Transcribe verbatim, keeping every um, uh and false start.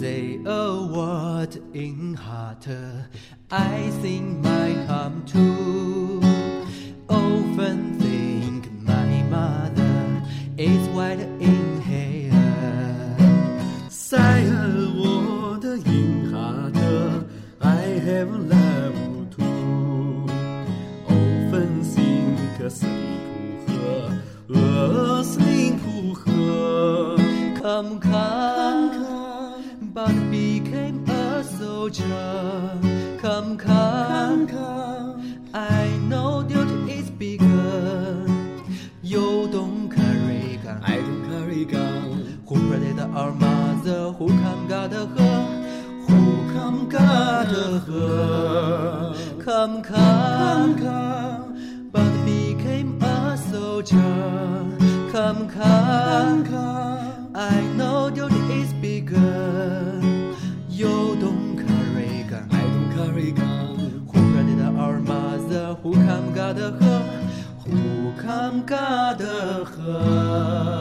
say a word in heart, I think my harm too. Often think my mother is white in hair. 在我的 in heart, I have love too. Often think sleep 和 sleep 和 Come, come, but became a soldier. Come, come, I know duty is bigger. You don't carry gun, I don't carry gun. Who protect our mother? Who come guard her? Who come guard her? Come, come, but became a soldier. Come, come, I know duty is bigger. You don't carry gun, I don't carry gun. Who protect our mother? Who come guard her? Who come guard her?